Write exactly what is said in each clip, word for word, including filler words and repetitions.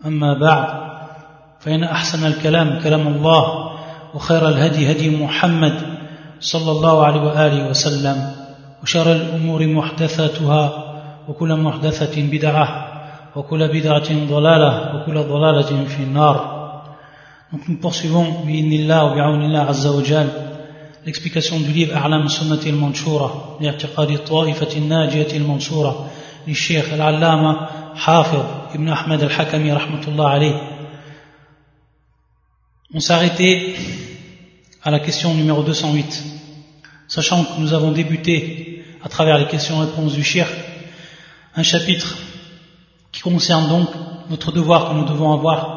أما بعد فإن أحسن الكلام كلام الله وخير الهدي هدي محمد صلى الله عليه وآله وسلم وشر الأمور محدثاتها وكل محدثة بدعة وكل بدعة ضلالة وكل ضلالة في النار. Donc nous poursuivons bi'idhnillah wa bi'awnillah azza wa jal l'explication du livre A'lam Sunnati al-Manshura li'i'tiqadi ta'ifati an-najiyati al-Mansura du Cheikh al-Allama Hafid Ibn Ahmed al-Hakami rahmatullah alayh. On s'est arrêté à la question numéro deux cent huit, sachant que nous avons débuté à travers les questions-réponses du Cheikh un chapitre qui concerne donc notre devoir que nous devons avoir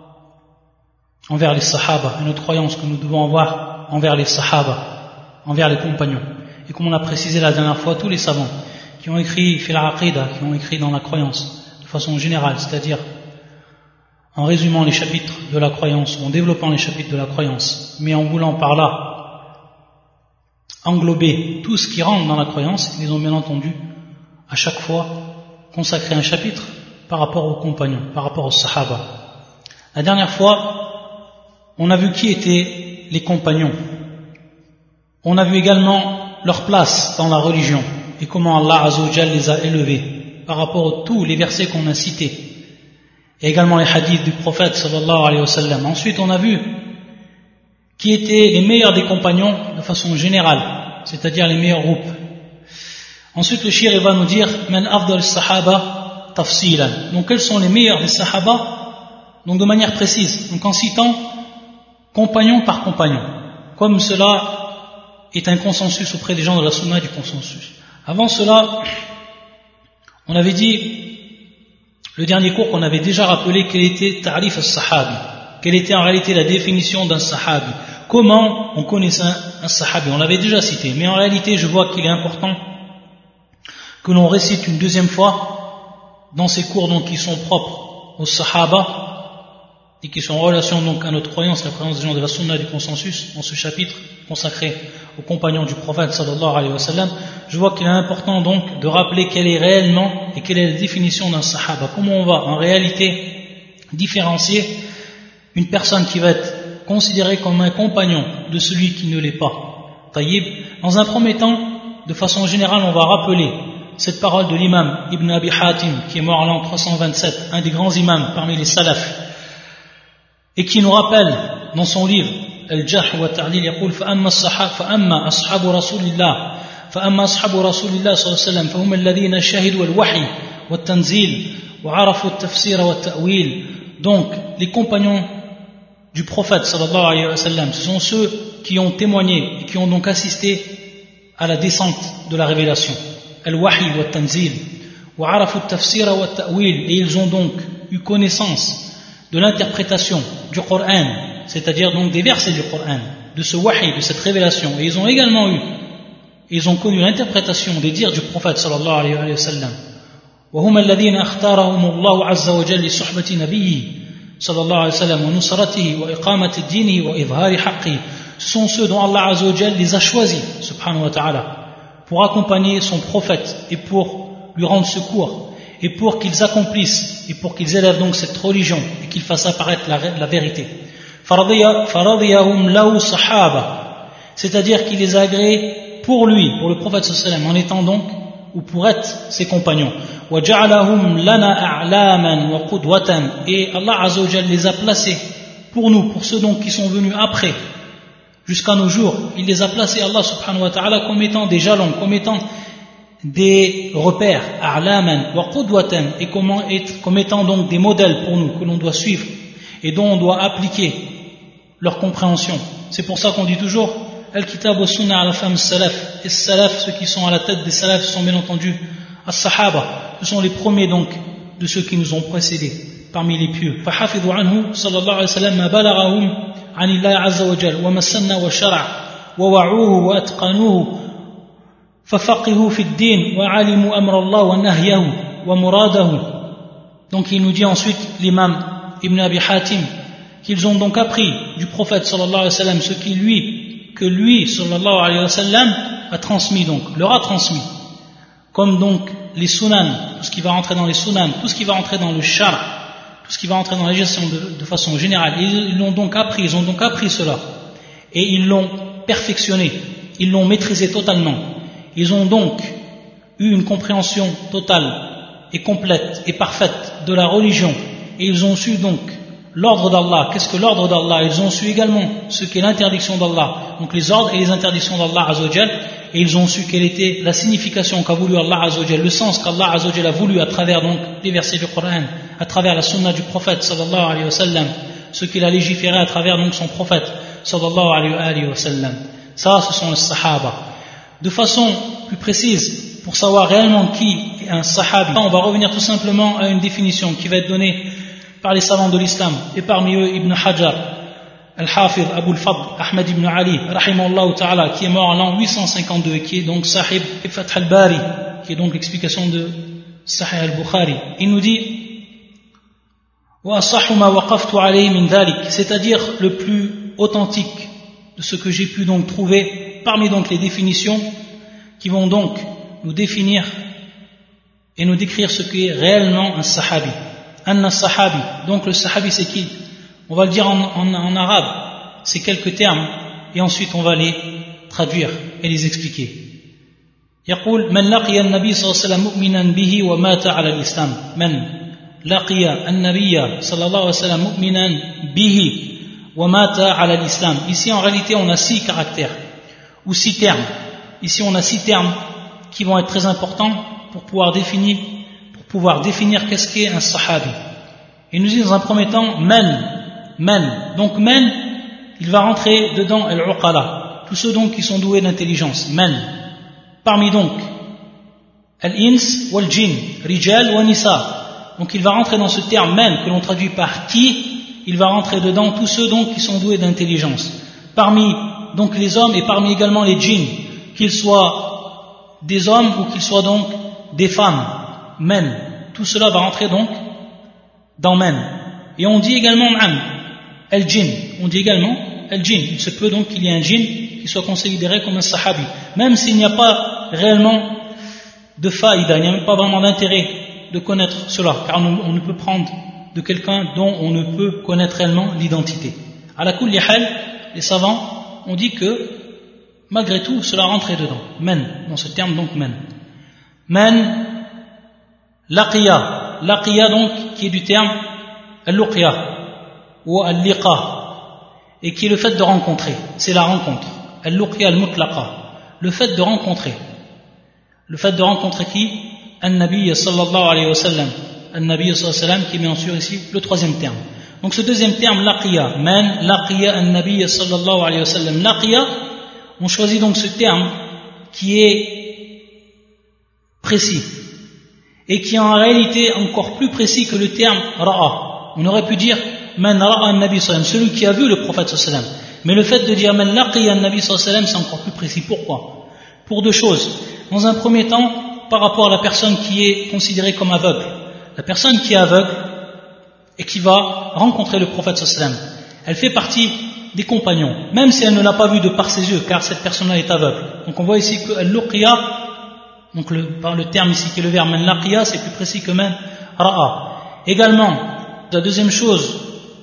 envers les Sahaba et notre croyance que nous devons avoir envers les Sahaba, envers les compagnons. Et comme on a précisé la dernière fois, tous les savants qui ont écrit fil aqida, qui ont écrit dans la croyance de façon générale, c'est-à-dire en résumant les chapitres de la croyance, ou en développant les chapitres de la croyance, mais en voulant par là englober tout ce qui rentre dans la croyance, ils ont bien entendu à chaque fois consacré un chapitre par rapport aux compagnons, par rapport aux Sahaba. La dernière fois, on a vu qui étaient les compagnons. On a vu également leur place dans la religion et comment Allah Azza wa Jal les a élevés par rapport à tous les versets qu'on a cités et également les hadiths du prophète sallallahu alayhi wa sallam. Ensuite, on a vu qui étaient les meilleurs des compagnons de façon générale, c'est-à-dire les meilleurs groupes. Ensuite, le shir va nous dire Man afdal sahaba tafsilan. Donc, quels sont les meilleurs des sahaba? Donc, de manière précise. Donc, en citant compagnon par compagnon, comme cela est un consensus auprès des gens de la sunna du consensus. Avant cela, on avait dit, le dernier cours qu'on avait déjà rappelé, quel était ta'rif al-sahabi, quelle était en réalité la définition d'un sahabi, comment on connaissait un, un sahabi, on l'avait déjà cité, mais en réalité je vois qu'il est important que l'on récite une deuxième fois dans ces cours donc qui sont propres aux sahaba et qui sont en relation donc à notre croyance, la croyance des gens de la sunna du consensus, dans ce chapitre consacré aux compagnons du prophète sallallahu alayhi wa sallam. Je vois qu'il est important donc de rappeler quelle est réellement et quelle est la définition d'un sahaba, comment on va en réalité différencier une personne qui va être considérée comme un compagnon de celui qui ne l'est pas. Taïb. Dans un premier temps, de façon générale, on va rappeler cette parole de l'imam Ibn Abi Hatim qui est mort en l'an trois cent vingt-sept, un des grands imams parmi les salafs, et qui nous rappelle dans son livre Al-Jarh wa Ta'dil, يقول فأما الصحابة فأما أصحاب رسول الله فأما أصحاب رسول الله صلى الله عليه وسلم فهم الذين شهدوا الوحي والتنزيل وعرفوا التفسير والتأويل. Donc les compagnons du prophète sallallahu alayhi wa sallam, ce sont ceux qui ont témoigné et qui ont donc assisté à la descente de la révélation, al-wahi wa tanzil wa arafu at-tafsir wa at-ta'wil, et ils ont donc eu connaissance de l'interprétation du Coran, c'est-à-dire donc des versets du Coran, de ce wahi, de cette révélation, et ils ont également eu, ils ont connu l'interprétation des dires du prophète sallallahu alayhi wa sallam. وهم الذين اختارهم الله عز وجل لصحبة نبيه صلى الله عليه وسلم ونصرته وإقامة دينه وإظهار حقه. Ce sont ceux dont Allah Azza wa Jal les a choisis, subhanahu wa ta'ala, pour accompagner son prophète et pour lui rendre secours et pour qu'ils accomplissent et pour qu'ils élèvent donc cette religion et qu'ils fassent apparaître la, la vérité. فَرَضِيَهُمْ لَهُ صَحَابًا, c'est-à-dire qu'il les a agréés pour lui, pour le prophète sallallahu alayhi wa sallam, en étant donc ou pour être ses compagnons. وَجَعَلَهُمْ لَنَا أَعْلَامًا وَقُدْوَةً, et Allah Azza wa Jal les a placés pour nous, pour ceux donc qui sont venus après, jusqu'à nos jours. Il les a placés, Allah subhanahu wa ta'ala, comme étant des jalons, comme étant des repères, a'laman wa qudwatan, et comment être, comme étant donc des modèles pour nous, que l'on doit suivre et dont on doit appliquer leur compréhension. C'est pour ça qu'on dit toujours al-kitab wa sunnah ala fahmi salaf, et salaf, ceux qui sont à la tête des salaf, sont bien entendu as-sahaba, ce sont les premiers donc de ceux qui nous ont précédés parmi les pieux. فحفظوا عنه صلى الله عليه وسلم ما بلغهم عن الله عز وجل وما سن وشرع ووعوه وأتقنوه ففقهوا في الدين وعلموا أمر الله ونهيه ومراده. Donc il nous dit ensuite l'imam Ibn Abi Hatim qu'ils ont donc appris du prophète sallallahu alayhi wa sallam ce qui lui, que lui sallallahu alayhi wa sallam a transmis, donc leur a transmis, comme donc les sunan, tout ce qui va rentrer dans les sunan, tout ce qui va rentrer dans le shar, tout ce qui va entrer dans la législation de, de façon générale. Ils, ils l'ont donc appris, ils ont donc appris cela. Et ils l'ont perfectionné, ils l'ont maîtrisé totalement. Ils ont donc eu une compréhension totale et complète et parfaite de la religion. Et ils ont su donc l'ordre d'Allah. Qu'est-ce que l'ordre d'Allah? Ils ont su également ce qu'est l'interdiction d'Allah, donc les ordres et les interdictions d'Allah Azzawajal, et ils ont su quelle était la signification qu'a voulu Allah Azzawajal, le sens qu'Allah Azzawajal a voulu à travers donc les versets du Coran, à travers la sunna du prophète sallallahu alayhi wa sallam, ce qu'il a légiféré à travers donc son prophète sallallahu alayhi wa sallam. Ça, ce sont les sahaba. De façon plus précise, pour savoir réellement qui est un sahabi, on va revenir tout simplement à une définition qui va être donnée par les savants de l'islam, et parmi eux Ibn Hajar, Al-Hafidh Abu al-Fadl, Ahmed ibn Ali, rahimahullah ta'ala, qui est mort en l'an huit cent cinquante-deux, et qui est donc Sahib Fath al-Bari, qui est donc l'explication de Sahih al-Bukhari. Il nous dit c'est-à-dire le plus authentique de ce que j'ai pu donc trouver parmi donc les définitions qui vont donc nous définir et nous décrire ce qu'est réellement un sahabi. Anna sahabi, donc le sahabi c'est qui? On va le dire en, en, en arabe, c'est quelques termes et ensuite on va les traduire et les expliquer. يقول من لقي النبي صلى الله عليه وسلم مؤمنا به ومات على الإسلام. من لقي النبي صلى الله عليه وسلم مؤمنا به ومات على الإسلام. Ici en réalité on a six caractères ou six termes. Ici on a six termes qui vont être très importants pour pouvoir définir pouvoir définir qu'est-ce qu'est un sahabi. Il nous dit dans un premier temps man, man. Donc man, il va rentrer dedans al-uqala, tous ceux donc qui sont doués d'intelligence. Man. Parmi donc al-ins wal jin, rijal wa nisa. Donc il va rentrer dans ce terme man que l'on traduit par qui, il va rentrer dedans tous ceux donc qui sont doués d'intelligence. Parmi donc les hommes et parmi également les djinns, qu'ils soient des hommes ou qu'ils soient donc des femmes. Men, tout cela va rentrer donc dans men. Et on dit également am, el djinn, on dit également el djinn. Il se peut donc qu'il y ait un djinn qui soit considéré comme un sahabi, même s'il n'y a pas réellement de faïda, il n'y a même pas vraiment d'intérêt de connaître cela, car on, on ne peut prendre de quelqu'un dont on ne peut connaître réellement l'identité. À la kulli hal, les savants ont dit que malgré tout cela rentrait dedans, men, dans ce terme donc men. Men, Laqiya, laqiya donc qui est du terme al-luqya ou al-liqa et qui est le fait de rencontrer, c'est la rencontre. Al-luqya al-mutlaqa, le fait de rencontrer. Le fait de rencontrer qui? An-Nabi sallallahu alayhi wa sallam. An-Nabi sallallahu alayhi wa sallam qui est bien sûr ici le troisième terme. Donc ce deuxième terme, laqiya, man laqiya an-Nabi sallallahu alayhi wa sallam. Laqiya, on choisit donc ce terme qui est précis et qui est en réalité encore plus précis que le terme ra'a. On aurait pu dire man ra'a an-nabi sallam, celui qui a vu le prophète sallam. Mais le fait de dire man laqiya an-nabi sallam, c'est encore plus précis. Pourquoi? Pour deux choses. Dans un premier temps, par rapport à la personne qui est considérée comme aveugle. La personne qui est aveugle et qui va rencontrer le prophète sallam, elle fait partie des compagnons, même si elle ne l'a pas vu de par ses yeux, car cette personne-là est aveugle. Donc on voit ici que al-luqya, donc le, par le terme ici qui est le verbe man laqiya, c'est plus précis que man ra'a. Également, la deuxième chose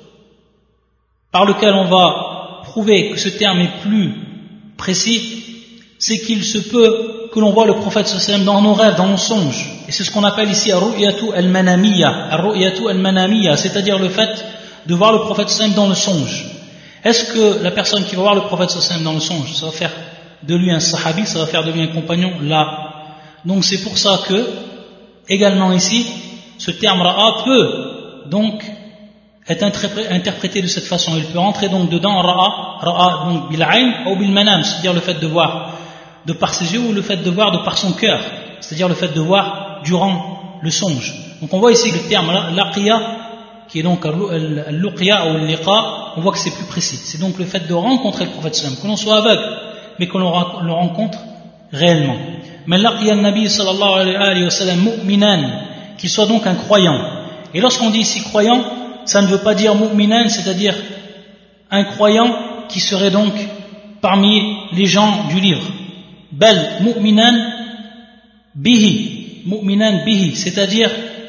par laquelle on va prouver que ce terme est plus précis, c'est qu'il se peut que l'on voit le prophète sallam dans nos rêves, dans nos songes. Et c'est ce qu'on appelle ici ar-ru'yatu al-manamiyya, ar-ru'yatu al-manamiyya, c'est-à-dire le fait de voir le prophète sallam dans le songe. Est-ce que la personne qui va voir le prophète sallam dans le songe, ça va faire de lui un sahabi, ça va faire de lui un compagnon? Là. Donc c'est pour ça que, également ici, ce terme ra'a peut donc être interprété de cette façon. Il peut rentrer donc dedans ra'a, ra'a donc bil'ayn ou bil'manam, c'est-à-dire le fait de voir de par ses yeux ou le fait de voir de par son cœur, c'est-à-dire le fait de voir durant le songe. Donc on voit ici que le terme laqiya, qui est donc al-luqya ou al-liqa, on voit que c'est plus précis. C'est donc le fait de rencontrer le prophète sallam, que l'on soit aveugle, mais que l'on le rencontre réellement. Mais laqiya an-nabi sallallahu alayhi wa sallam mu'minan, qu'il soit donc un croyant. Et lorsqu'on dit ici croyant, ça ne veut pas dire mu'minan, c'est-à-dire un croyant qui serait donc parmi les gens du livre. Bal mu'minan bihi, mu'minan bihi, c'est-à-dire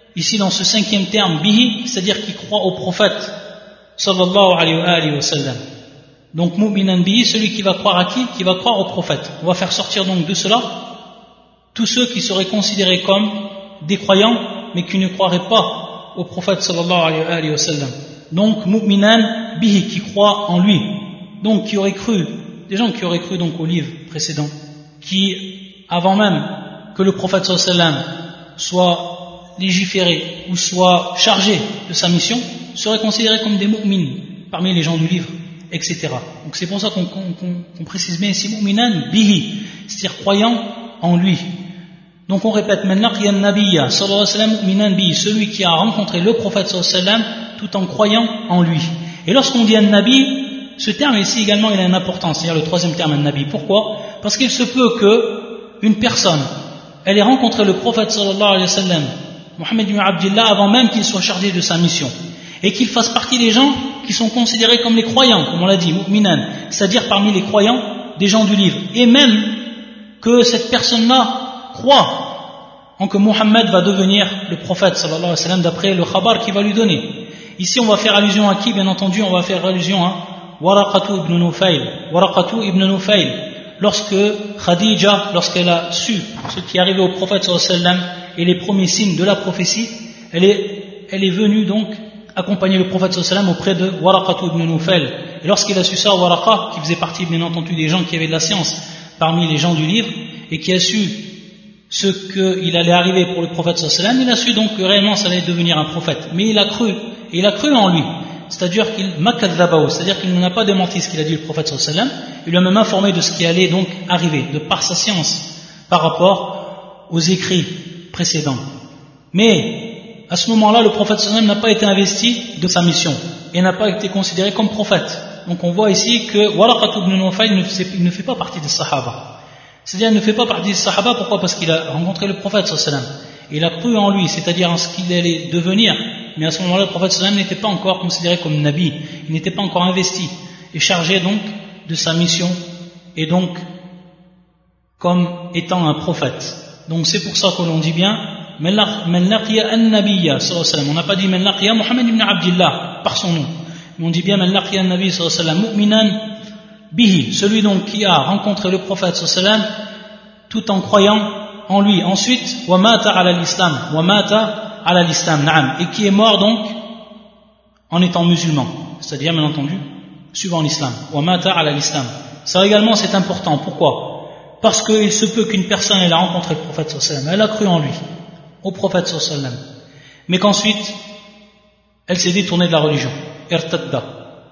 ici dans ce cinquième terme, bihi, c'est-à-dire qui croit au prophète, sallallahu alayhi wa sallam. Donc, mu'minan bihi, celui qui va croire à qui? Qui va croire au prophète. On va faire sortir donc de cela tous ceux qui seraient considérés comme des croyants, mais qui ne croiraient pas au prophète, sallallahu alayhi wa sallam. Donc, mu'minan bihi, qui croit en lui. Donc, qui auraient cru, des gens qui auraient cru donc au livre précédent, qui, avant même que le prophète, sallallahu alayhi wa sallam, soit légiféré ou soit chargé de sa mission, seraient considérés comme des mu'min parmi les gens du livre, et cetera. Donc c'est pour ça qu'on, qu'on, qu'on précise bien ici mu'minan bihi, c'est-à-dire croyant en lui. Donc on répète maintenant qu'il y a un nabiyya sallallahu alayhi wa sallam mu'minan bihi, celui qui a rencontré le prophète sallallahu alayhi wa sallam tout en croyant en lui. Et lorsqu'on dit un nabi, ce terme ici également il a une importance, c'est-à-dire le troisième terme un nabi. Pourquoi? Parce qu'il se peut que une personne elle ait rencontré le prophète sallallahu alayhi wa sallam Mohammed ibn Abdillah avant même qu'il soit chargé de sa mission et qu'il fasse partie des gens qui sont considérés comme les croyants, comme on l'a dit, mu'minan, c'est-à-dire parmi les croyants des gens du livre, et même que cette personne-là croit en que Mohammed va devenir le prophète sallallahu alayhi wa sallam d'après le khabar qu'il va lui donner. Ici on va faire allusion à qui? Bien entendu on va faire allusion à Waraqatu ibn Nufayl. Waraqatu ibn Nufayl, lorsque Khadija, lorsqu'elle a su ce qui est arrivé au prophète sallallahu alayhi wa sallam et les premiers signes de la prophétie, elle est, elle est venue donc accompagner le prophète sallallahu alayhi wa sallam auprès de Waraqatu ibn Nufayl. Et lorsqu'il a su ça, Waraqa, qui faisait partie bien entendu des gens qui avaient de la science parmi les gens du livre, et qui a su ce qu'il allait arriver pour le prophète sallallahu alayhi wa sallam, il a su donc que réellement ça allait devenir un prophète. Mais il a cru, et il a cru en lui. C'est-à-dire qu'il makadhabahu, c'est-à-dire qu'il n'a pas démenti ce qu'il a dit le prophète sallallahu alayhi wa sallam, il lui a même informé de ce qui allait donc arriver, de par sa science, par rapport aux écrits précédents. Mais à ce moment-là, le prophète sallallahu alayhi wa sallam n'a pas été investi de sa mission et n'a pas été considéré comme prophète. Donc on voit ici que Waraqatu ibn Nufayl ne fait pas partie des Sahaba. C'est-à-dire il ne fait pas partie des Sahaba, pourquoi? Parce qu'il a rencontré le prophète sallallahu alayhi wa sallam. Il a cru en lui, c'est-à-dire en ce qu'il allait devenir. Mais à ce moment-là, le prophète sallallahu alayhi wa sallam n'était pas encore considéré comme Nabi, il n'était pas encore investi et chargé donc de sa mission et donc comme étant un prophète. Donc c'est pour ça que l'on dit bien Man laqiya an-nabiyya sallallahu alayhi wa sallam. On n'a pas dit Man laqiya Muhammad ibn Abdillah par son nom, mais on dit bien Man laqiya an-nabi sallallahu alayhi wa sallam mu'minan bihi, celui donc qui a rencontré le prophète sallallahu alayhi wa sallam tout en croyant en lui. Ensuite wa mata ala l'islam, wa mata ala l'islam, na'am, et qui est mort donc en étant musulman, c'est-à-dire bien entendu suivant l'islam. Wa mata ala l'islam. Ça également c'est important. Pourquoi? Parce qu'il se peut qu'une personne elle a rencontré le prophète sallallahu alayhi wa sallam, elle a cru en lui, au prophète sallallahu alayhi wa sallam, mais qu'ensuite elle s'est détournée de la religion, irtadda,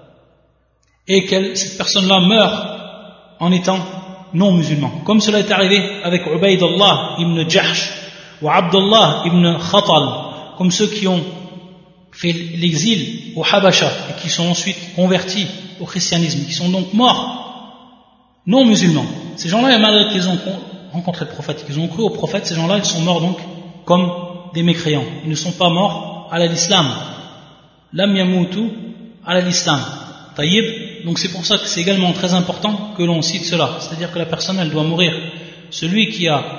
et que cette personne-là meurt en étant non musulman, comme cela est arrivé avec Ubaydullah ibn Jahsh ou Abdullah ibn Khatal, comme ceux qui ont fait l'exil au Habasha et qui sont ensuite convertis au christianisme, qui sont donc morts non musulmans. Ces gens-là, malgré qu'ils ont rencontré le prophète, qu'ils ont cru au prophète, ces gens-là, ils sont morts donc comme des mécréants. Ils ne sont pas morts à l'islam. Lam yamutu à l'islam. Taïb. Donc c'est pour ça que c'est également très important que l'on cite cela. C'est-à-dire que la personne, elle doit mourir. Celui qui a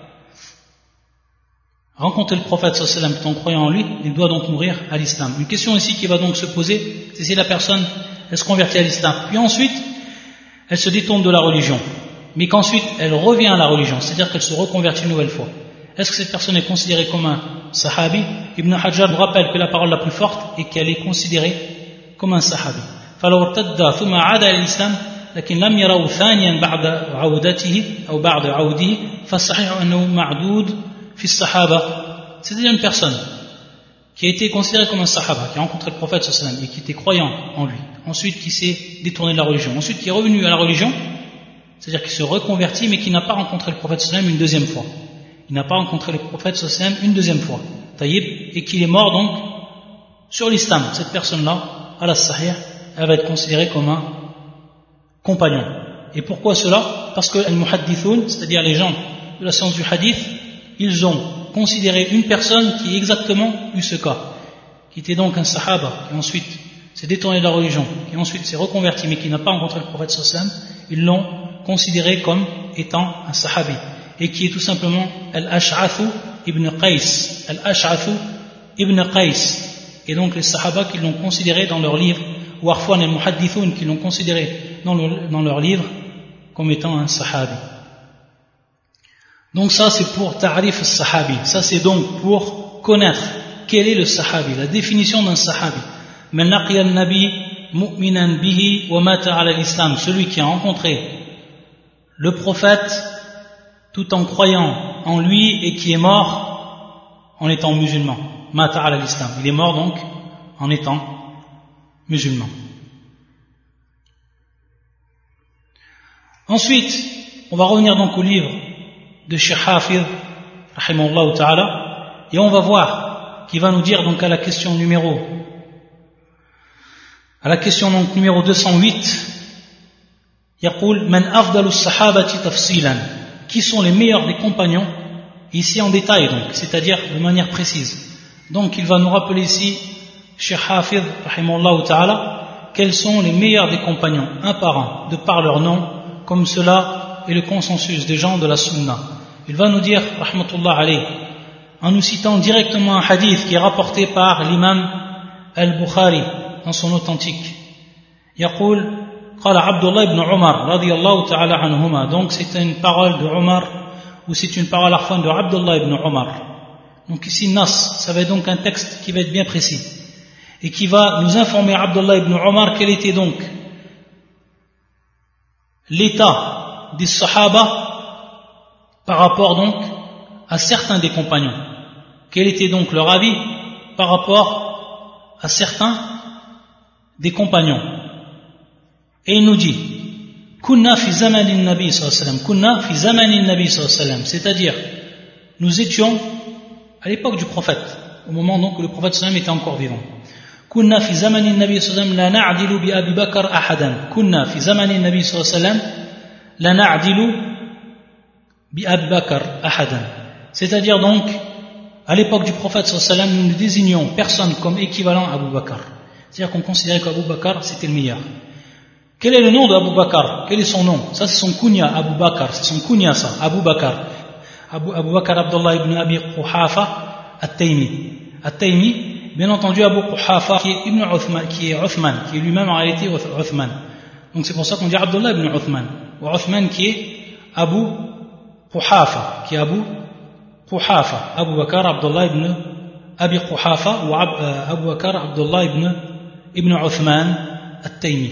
rencontré le prophète sallallahu alayhi wa sallam en croyant en lui, il doit donc mourir à l'islam. Une question ici qui va donc se poser, c'est si la personne, elle se convertit à l'islam. Puis ensuite, elle se détourne de la religion, mais qu'ensuite elle revient à la religion, c'est-à-dire qu'elle se reconvertit une nouvelle fois. Est-ce que cette personne est considérée comme un sahabi? Ibn Hajar nous rappelle que la parole la plus forte est qu'elle est considérée comme un sahabi. فلو ارتد ثم عاد إلى الإسلام لكن لم يروا ثانيا بعد عودته أو بعد عوده فالصحيح أنه معدود في الصحابة. C'est-à-dire une personne qui a été considéré comme un sahaba, qui a rencontré le prophète sallallahu alayhi wa sallam et qui était croyant en lui, ensuite qui s'est détourné de la religion, ensuite qui est revenu à la religion, c'est-à-dire qui se reconvertit mais qui n'a pas rencontré le prophète sallallahu alayhi wa sallam une deuxième fois. Il n'a pas rencontré le prophète sallallahu alayhi wa sallam une deuxième fois, taïb, et qu'il est mort donc sur l'islam. Cette personne-là, à la sahih, elle va être considérée comme un compagnon. Et pourquoi cela? Parce que al-muhaddithoun, c'est-à-dire les gens de la science du hadith, ils ont considéré une personne qui exactement eu ce cas, qui était donc un sahaba, qui ensuite s'est détourné de la religion, qui ensuite s'est reconverti, mais qui n'a pas rencontré le prophète sallallahu alayhi wa sallam, ils l'ont considéré comme étant un sahabi, et qui est tout simplement Al-Ash'athu ibn Qais. Al-Ash'athu Ibn Qais, et donc les Sahaba qui l'ont considéré dans leur livre, ou Arfwan et Muhaddithoun qui l'ont considéré dans, le, dans leur livre comme étant un Sahabi. Donc ça c'est pour Ta'rif al-Sahabi, ça c'est donc pour connaître quel est le Sahabi, la définition d'un Sahabi. Man laqiya an-nabi mu'minan bihi wa mata ala l'islam, celui qui a rencontré le prophète tout en croyant en lui et qui est mort en étant musulman. Mata ala l'islam, il est mort donc en étant musulman. Ensuite, on va revenir donc au livre de Cheikh Hafid, rahimahullah ta'ala, et on va voir qu'il va nous dire donc à la question numéro à la question donc numéro deux cent huit, يقول من أفضل الصحابة تفصيلا, qui sont les meilleurs des compagnons, ici en détail donc, c'est-à-dire de manière précise. Donc il va nous rappeler ici, Cheikh Hafid, rahimahullah ta'ala, quels sont les meilleurs des compagnons, un par un, de par leur nom, comme cela est le consensus des gens de la Sunna. Il va nous dire, rahmatullah alayh, en nous citant directement un hadith qui est rapporté par l'imam al-Bukhari dans son authentique. يقول قال عبد الله بن عمر رضي الله تعالى عنهما, donc c'est une parole de Omar ou c'est une parole à la fin de Abdullah ibn Omar. Donc ici Nas, ça va être donc un texte qui va être bien précis et qui va nous informer Abdullah ibn Omar quel était donc l'état des Sahaba par rapport donc à certains des compagnons. Quel était donc leur avis par rapport à certains des compagnons. Et il nous dit Kunna fi zamanin nabi sallallahu alayhi wa sallam, Kunna fi zamanin nabi sallallahu alayhi wa sallam, c'est-à-dire nous étions à l'époque du prophète, au moment donc où le prophète sallallahu alayhi wa sallam était encore vivant. Kunna fi zamanin nabi sallallahu alayhi wa sallam la na'dilu bi Abi Bakr ahadan. Kunna fi zamanin nabi sallallahu alayhi wa sallam la na'dilu bi Abi Bakr ahadan. C'est-à-dire donc à l'époque du prophète sallallahu alayhi wa sallam, nous ne désignions personne comme équivalent à Abu Bakr. C'est-à-dire qu'on considérait qu'Abu Bakr c'était le meilleur. Quel est le nom d'Abu Bakr? Quel est son nom? Ça c'est son kunya, Abu Bakr, c'est son kunya ça, Abu Bakr. Abu, Abu Bakr Abdullah ibn Abi Quhafa At-Taymi. At-Taymi, bien entendu Abu Quhafa qui est Ibn Uthman, qui est Uthman, qui est lui-même en réalité Uthman. Donc c'est pour ça qu'on dit Abdullah ibn Uthman. Ou Uthman qui est Abu Quhafa, qui est Abu Quhafa. Abu Bakr Abdullah ibn Abi Quhafa ou Abu Bakr Abdullah ibn, ibn Uthman At-Taymi.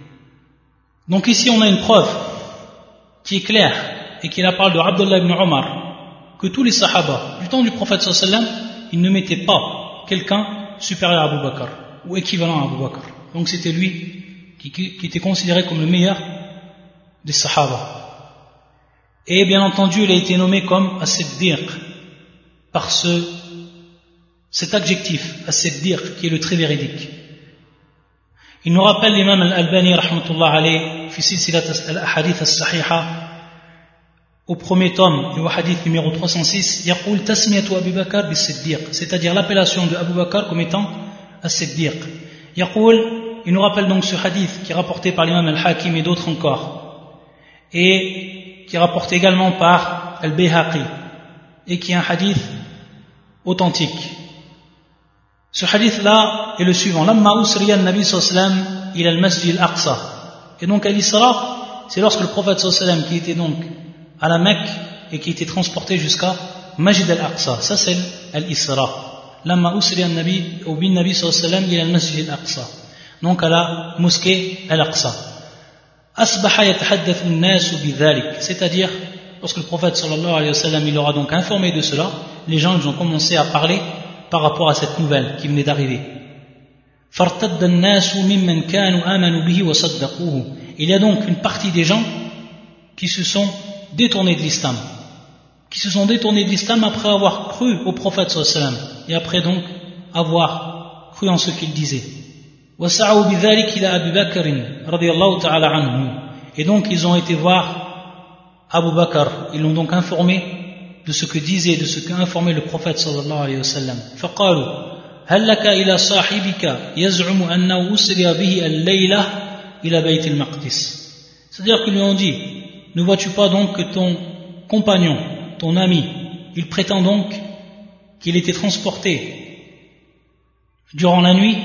Donc ici on a une preuve qui est claire et qui la parle de Abdullah ibn Omar, que tous les sahaba du temps du prophète sallallahu alayhi wa sallam, ils ne mettaient pas quelqu'un supérieur à Abu Bakr ou équivalent à Abu Bakr. Donc c'était lui qui, qui, qui était considéré comme le meilleur des sahaba. Et bien entendu il a été nommé comme As-Siddiq par ce, cet adjectif As-Siddiq qui est le très véridique. Il nous rappelle l'imam al-Albani rahmatullah alayh fi silsilat al-ahadith as-sahiha au premier tome, le hadith numéro trois cent six, yaqul tasmiyatu Abu Bakr bis-Siddiq, c'est-à-dire l'appellation de Abu Bakr comme étant as-Siddiq. Yaqul, il nous rappelle donc ce hadith qui est rapporté par l'imam al-Hakim et d'autres encore, et qui est rapporté également par al-Bayhaqi, et qui est un hadith authentique. Ce hadith-là est le suivant. Lamma usriya an-nabi sallallahu alayhi wa sallam ila al-masjid al-Aqsa. Et donc à l'Isra, c'est lorsque le prophète sallallahu alayhi wa sallam qui était donc à la Mecque et qui était transporté jusqu'à Masjid al-Aqsa. Ça c'est l'Isra. Lamma usriya an-nabi ou bin nabi sallallahu alayhi wa sallam ila al-masjid al-Aqsa. Donc à la mosquée al-Aqsa. Asbaha yatahaddathu an-nas bidhalik. C'est-à-dire lorsque le prophète sallallahu alayhi wa sallam il leur a donc informé de cela, les gens ils ont commencé à parler par rapport à cette nouvelle qui venait d'arriver. Il y a donc une partie des gens qui se sont détournés de l'islam, qui se sont détournés de l'islam après avoir cru au prophète sallallahu alayhi wa sallam et après donc avoir cru en ce qu'il disait. Et donc ils ont été voir Abu Bakr, ils l'ont donc informé de ce que disait, de ce qu'a informé le prophète sallallahu alayhi wa sallam. فقالوا هل لك إلى صاحبك يزعم أنه أسري به الليلة إلى بيت المقدس. C'est-à-dire qu'ils lui ont dit, ne vois-tu pas donc que ton compagnon, ton ami, il prétend donc qu'il était transporté durant la nuit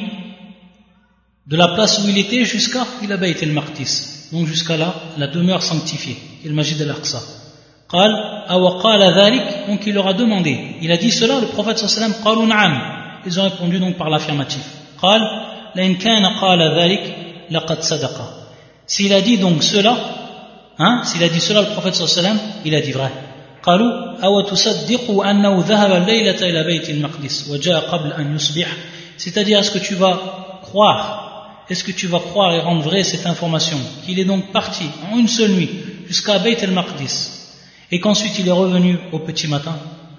de la place où il était jusqu'à ila Bayt al-Maqdis, donc jusqu'à la, la demeure sanctifiée, le Masjid al-Aqsa. قال أو قال ذلك, donc il leur a demandé, il a dit cela, le prophète sallallahu alayhi wa sallam, قالوا نعم, ils ont répondu donc par l'affirmatif. قال لئن كان قال ذلك لقد صدق, s'il a dit donc cela, hein, s'il a dit cela le prophète sallallahu alayhi wa sallam, il a dit vrai. قالوا أو تصدقوا أنه ذهب الليلة إلى بيت المقدس وجاء قبل أن يصبح, c'est-à-dire est-ce que tu vas croire, est-ce que tu vas croire et rendre vraie cette information qu'il est donc parti en une seule nuit jusqu'à Bayt al-Maqdis et qu'ensuite il est revenu au petit matin?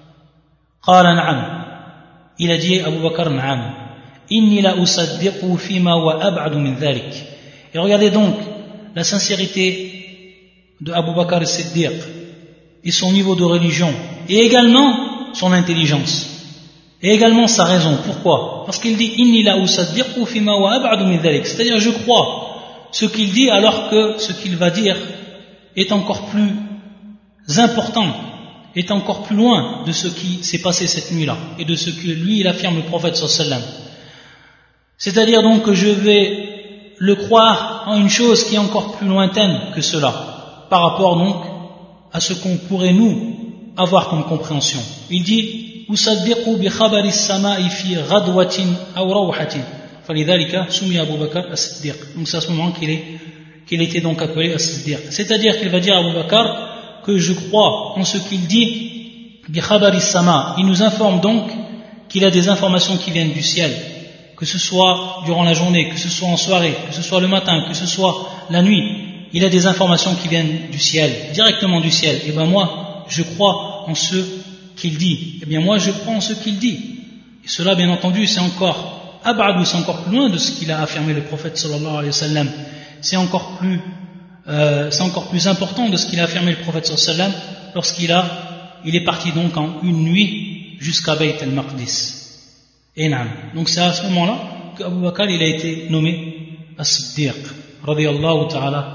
قال نعم, il a dit Abu Bakr نعم إني لا أصدقه فيما هو أبعد من ذلك. Et regardez donc la sincérité de Abu Bakr as-Siddiq et son niveau de religion et également son intelligence et également sa raison. Pourquoi? Parce qu'il dit inni la usaddiqu fima wa ab'adu min dhalik, c'est-à-dire je crois ce qu'il dit alors que ce qu'il va dire est encore plus important, est encore plus loin de ce qui s'est passé cette nuit-là et de ce que lui il affirme le prophète sallallahu alayhi wa sallam. C'est-à-dire donc que je vais le croire en une chose qui est encore plus lointaine que cela par rapport donc à ce qu'on pourrait nous avoir comme compréhension. Il dit أصدق بخبر السماء في غدوة أو روحة فلذلك سمي أبو بكر الصديق. Donc c'est à ce moment qu'il est qu'il était donc appelé as-Siddiq. C'est-à-dire qu'il va dire à Abu Bakr que je crois en ce qu'il dit بخبر السماء. Il nous informe donc qu'il a des informations qui viennent du ciel, que ce soit durant la journée, que ce soit en soirée, que ce soit le matin, que ce soit la nuit. Il a des informations qui viennent du ciel, directement du ciel. Et ben moi, je crois en ce qu'il dit. Eh bien moi, je crois en ce qu'il dit. Et cela, bien entendu, c'est encore abadou, c'est encore plus loin de ce qu'il a affirmé le prophète sallallahu alayhi wa sallam. C'est encore plus, euh, c'est encore plus important de ce qu'il a affirmé le prophète sallallahu alayhi wa sallam lorsqu'il a, il est parti donc en une nuit jusqu'à Bayt al-Maqdis. Et naam. Donc c'est à ce moment-là qu'Abu Bakr il a été nommé as-Siddiq radiyallahu ta'ala.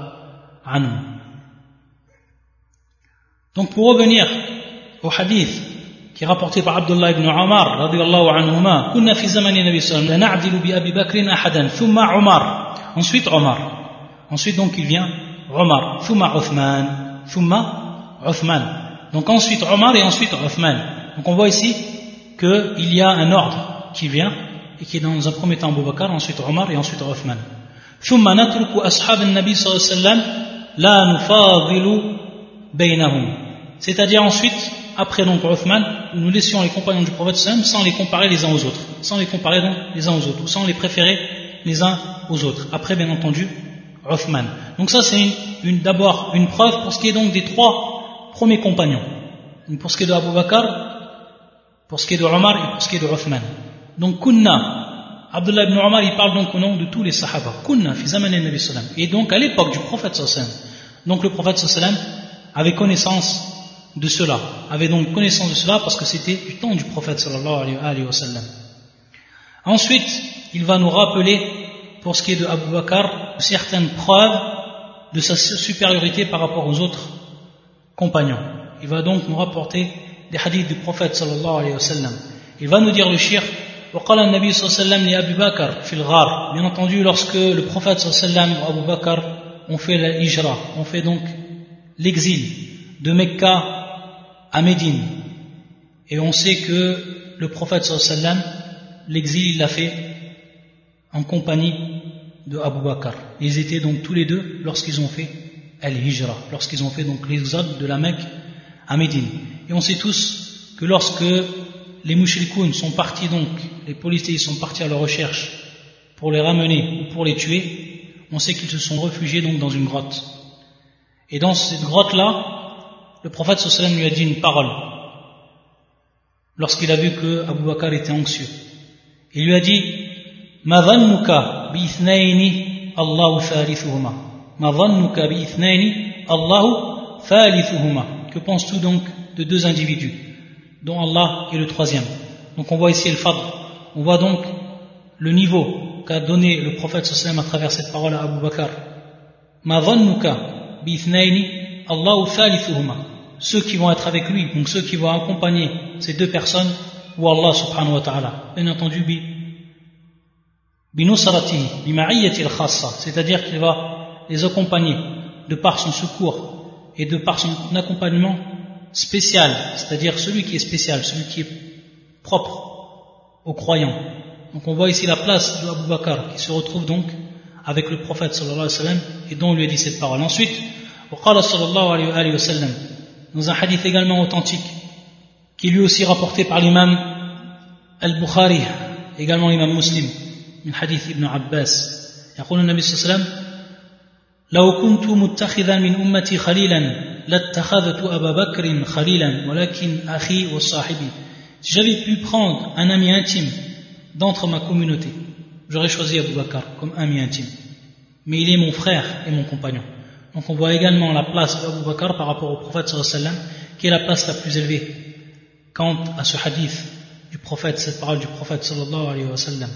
Donc pour revenir au hadith qui est rapporté par Abdullah ibn Umar radiyallahu anhuma, kunna fi zamani nabi sallallahu alayhi wa sallam na'dilu bi Abi Bakr ahadan thumma Umar, ensuite Umar, ensuite donc il vient Umar, thumma Uthman, thumma Uthman, donc ensuite Umar et ensuite Uthman. Donc on voit ici qu'il y a un ordre qui vient et qui est dans un premier temps Abu Bakr, ensuite Umar et ensuite Uthman. ثم نترك أصحاب النبي صلى الله عليه وسلم لا نفاضل بينهم, c'est-à-dire ensuite après donc Uthman nous laissions les compagnons du prophète sallam sans les comparer les uns aux autres, sans les comparer donc les uns aux autres ou sans les préférer les uns aux autres, après bien entendu Uthman. Donc ça c'est une, une, d'abord une preuve pour ce qui est donc des trois premiers compagnons, donc pour ce qui est de Abu Bakr, pour ce qui est de Omar et pour ce qui est de Uthman. Donc kunna, Abdullah ibn Umar il parle donc au nom de tous les sahaba, kunna fi zaman al-nabi sallam, et donc à l'époque du prophète sallam. Donc le prophète sallam avait connaissance de cela, avait donc connaissance de cela parce que c'était du temps du prophète sallallahu alayhi wa sallam. Ensuite il va nous rappeler pour ce qui est de Abu Bakr certaines preuves de sa supériorité par rapport aux autres compagnons. Il va donc nous rapporter des hadiths du prophète sallallahu alayhi wa sallam. Il va nous dire le shir وقال النبي صلى الله عليه وسلم لأبي بكر في الغار. Bien entendu, lorsque le prophète صلى الله عليه وسلم et Abu Bakr ont fait la hijra, ont fait donc l'exil de Mecca à Médine, et on sait que le prophète صلى الله عليه وسلم l'exil il l'a fait en compagnie de Abu Bakr. Ils étaient donc tous les deux lorsqu'ils ont fait al-hijra, lorsqu'ils ont fait donc l'exode de la Mecque à Médine. Et on sait tous que lorsque les mouchrikoun sont partis donc, les polythéistes sont partis à leur recherche pour les ramener ou pour les tuer, on sait qu'ils se sont réfugiés donc dans une grotte. Et dans cette grotte-là, le prophète sallallahu alayhi wa sallam lui a dit une parole lorsqu'il a vu que Abu Bakr était anxieux. Il lui a dit Ma dhannuka bi ithnayni Allahu thalithuhuma. Ma dhannuka bi ithnayni Allahu thalithuhuma. Que penses-tu donc de deux individus dont Allah est le troisième? Donc on voit ici le fadl, on voit donc le niveau qu'a donné le prophète sallallahu alayhi wa sallam à travers cette parole à Abu Bakr. Ma dhannuka bi ithnayni Allahu thalithuhuma. Ceux qui vont être avec lui, donc ceux qui vont accompagner ces deux personnes, ou Allah subhanahu wa ta'ala. Bien entendu, bi binusratihi bima'iyati al-khassa, c'est-à-dire qu'il va les accompagner de par son secours et de par son accompagnement spécial, c'est-à-dire celui qui est spécial, celui qui est propre aux croyants. Donc on voit ici la place de Abu Bakr qui se retrouve donc avec le prophète sallallahu alayhi wa sallam et dont on lui a dit cette parole. Ensuite, وقال صلى الله عليه وسلم, dans un hadith également authentique qui est lui aussi rapporté par l'imam al-Bukhari, également l'imam Muslim, من حديث ابن عباس, يقول النبي صلى الله عليه وسلم لو كنت متخذا من أمتي خليلا لاتخذت أبا بكر خليلا ولكن أخي وصاحبي. Si j'avais pu prendre un ami intime d'entre ma communauté, j'aurais choisi Abu Bakr comme ami intime. Mais il est mon frère et mon compagnon. Donc on voit également la place d'Abu Bakr par rapport au prophète sallallahu alayhi wa sallam, qui est la place la plus élevée quant à ce hadith du prophète, cette parole du prophète sallallahu alayhi wa sallam.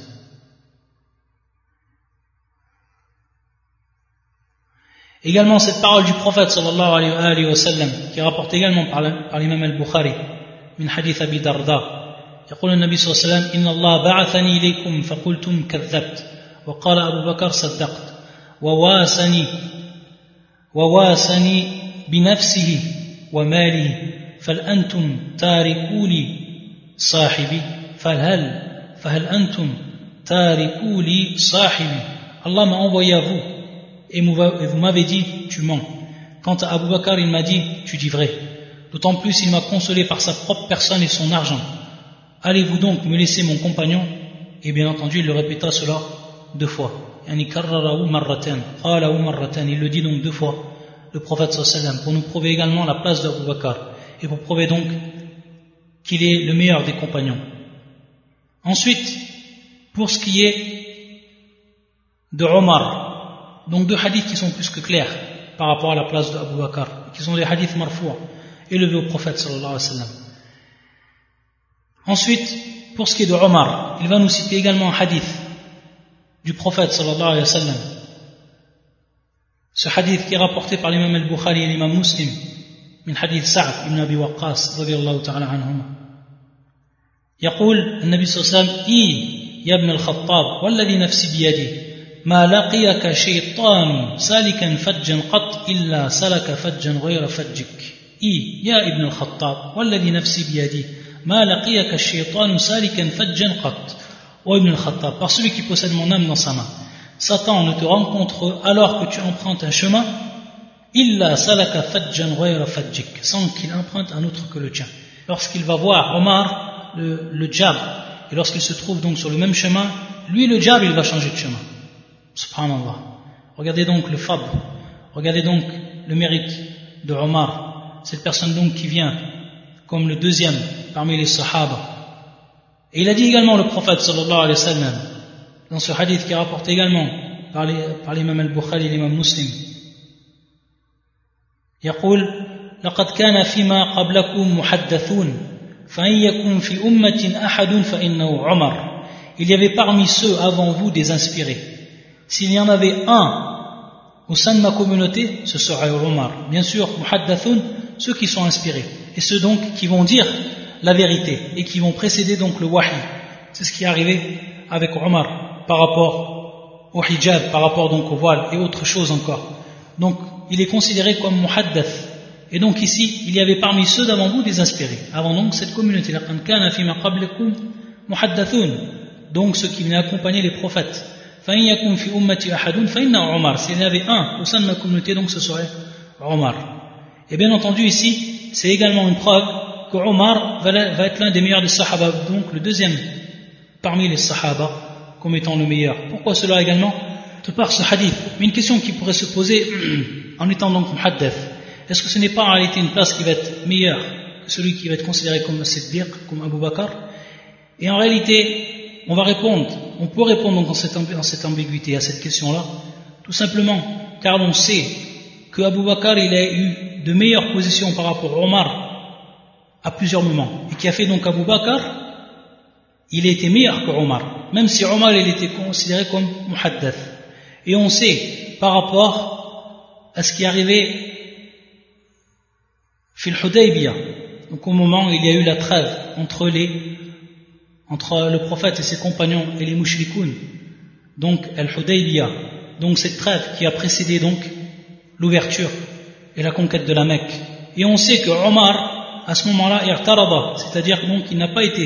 Également cette parole du prophète sallallahu alayhi wa sallam, qui est rapportée également par, par l'imam al-Bukhari, من حديث أبي درداء, يقول النبي صلى الله عليه وسلم إن الله بعثني إليكم فقلتم كذبت وقال أبو بكر صدقت وواسني وواسني بنفسه وماله فهل أنتم تاركوا لي صاحبي فهل فهل أنتم تاركوا لي صاحبي. Allah m'a envoyé à vous et vous m'avez dit tu mens. Quant à Abu Bakr, il m'a dit tu dis vrai. D'autant plus il m'a consolé par sa propre personne et son argent. Allez-vous donc me laisser mon compagnon? Et bien entendu il le répéta cela deux fois. Il le dit donc deux fois, le prophète sallallahu alayhi wa sallam, pour nous prouver également la place d'Abu Bakr et pour prouver donc qu'il est le meilleur des compagnons. Ensuite, pour ce qui est de Omar, donc deux hadiths qui sont plus que clairs par rapport à la place d'Abu Bakr, qui sont des hadiths marfou' élevés au prophète sallallahu alayhi wa sallam. Ensuite, pour ce qui est de Omar, il va nous citer également un hadith du prophète sallallahu alayhi wa sallam. Ce hadith qui est rapporté par l'imam al-Bukhari et l'imam Muslim, من حديث سعد بن أبي وقاص رضي الله تعالى عنهما. يقول النبي صلى الله عليه وسلم إي يا ابن الخطاب والذي نفسي بيده ما لقيك شيطان سالكا فجا قط إلا سلك فجا غير فجك. إي يا ابن الخطاب والذي نفسي بيده ما لقيك الشيطان سالكا فجا قط. Ô Ibn al-Khattab, par celui qui possède mon âme dans sa main, Satan ne te rencontre alors que tu empruntes un chemin, illa salaka fajjan ghayra fajjik, sans qu'il emprunte un autre que le tien. Lorsqu'il va voir Omar, le, le djab, et lorsqu'il se trouve donc sur le même chemin, lui le djab il va changer de chemin. Subhanallah. Regardez donc le fadl, regardez donc le mérite de Omar, cette personne donc qui vient comme le deuxième parmi les sahaba. Et il a dit également le prophète sallallahu alayhi wa sallam dans ce hadith qui est rapporté également par, les, par l'imam al-Bukhari et l'imam Muslim. يقول لقد كان فيما قبلكم محدثون فإن يكن في أمة أحد فإنه عمر. Il y avait parmi ceux avant vous des inspirés. S'il y en avait un au sein de ma communauté, ce serait Omar. Bien sûr, muhaddathun, ceux qui sont inspirés et ceux donc qui vont dire la vérité et qui vont précéder donc le wahi. C'est ce qui est arrivé avec Omar par rapport au hijab, par rapport donc au voile et autre chose encore. Donc il est considéré comme muhaddath. Et donc ici il y avait parmi ceux d'avant vous des inspirés avant donc cette communauté. Donc ceux qui venaient accompagner les prophètes. S'il y avait un au sein de ma communauté, donc ce serait Omar. Et bien entendu ici c'est également une preuve que Omar va être l'un des meilleurs des Sahaba, donc le deuxième parmi les Sahaba comme étant le meilleur. Pourquoi cela également? De par ce hadith. Mais une question qui pourrait se poser en étant donc muhaddath, est-ce que ce n'est pas en réalité une place qui va être meilleure que celui qui va être considéré comme Siddiq, comme Abu Bakr? Et en réalité, on va répondre, on peut répondre donc dans cette, dans cette ambiguïté à cette question-là, tout simplement car on sait que Abu Bakr il a eu de meilleures positions par rapport à Omar à plusieurs moments, et qui a fait donc Abu Bakr, il a été meilleur que Omar, même si Omar il était considéré comme muhaddath. Et on sait par rapport à ce qui est arrivé fil Hudaybiyah, donc au moment où il y a eu la trêve entre les entre le prophète et ses compagnons et les mushrikoun, donc Al-Hudaybiyah, donc cette trêve qui a précédé donc l'ouverture et la conquête de la Mecque. Et on sait que Omar, à ce moment-là, i'tarada, c'est-à-dire donc il n'a pas été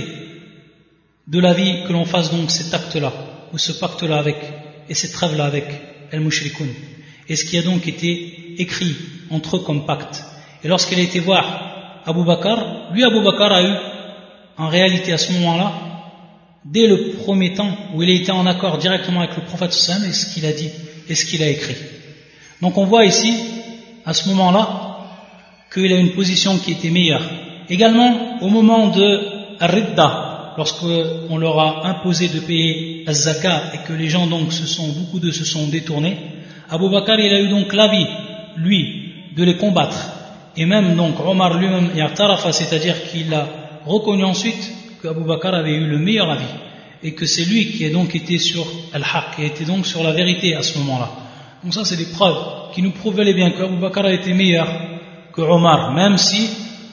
de l'avis que l'on fasse donc cet acte-là, ou ce pacte-là avec, et cette trêve-là avec Al-Mushrikoun. Et ce qui a donc été écrit entre eux comme pacte. Et lorsqu'il a été voir Abu Bakr, lui Abu Bakr a eu, en réalité à ce moment-là, dès le premier temps où il a été en accord directement avec le prophète sallallahu alayhi wa sallam et ce qu'il a dit et ce qu'il a écrit. Donc on voit ici, à ce moment-là, qu'il a une position qui était meilleure. Également, au moment de Ar-Ridda, lorsqu'on leur a imposé de payer az-zakat et que les gens donc se sont, beaucoup d'eux se sont détournés, Abu Bakr il a eu donc l'avis, lui, de les combattre. Et même donc Omar lui-même et Tarafa, c'est-à-dire qu'il a reconnu ensuite que Abu Bakr avait eu le meilleur avis et que c'est lui qui a donc été sur Al-Haq, qui a été donc sur la vérité à ce moment-là. Donc ça c'est des preuves qui nous prouvent bel et bien que Abu Bakr a été meilleur que Omar, même si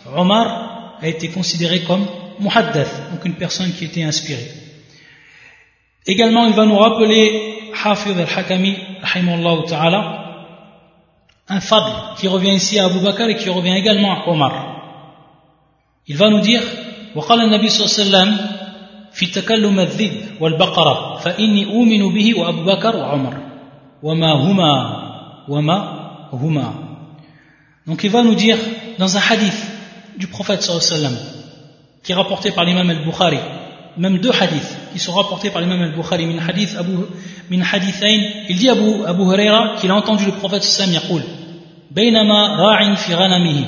Omar a été considéré comme muhaddath, donc une personne qui était inspirée. Également il va nous rappeler Hafidh al-Hakami rahimahullah ta'ala un fadl qui revient ici à Abu Bakr et qui revient également à Omar. Il va nous dire وقال النبي صلى الله عليه وسلم في تكلم الذئب والبقرة فإني أؤمن به وأبو بكر وعمر وما هما وما هما. Donc il va nous dire dans un hadith du prophète sallallahu alayhi wa sallam qui est rapporté par l'imam al-Bukhari, même deux hadiths qui sont rapportés par l'imam al-Bukhari min hadith Abu min hadithain, il dit Abu Abu Huraira qu'il a entendu le prophète sallallahu alayhi wa sallam يقول بينما راع في غنمه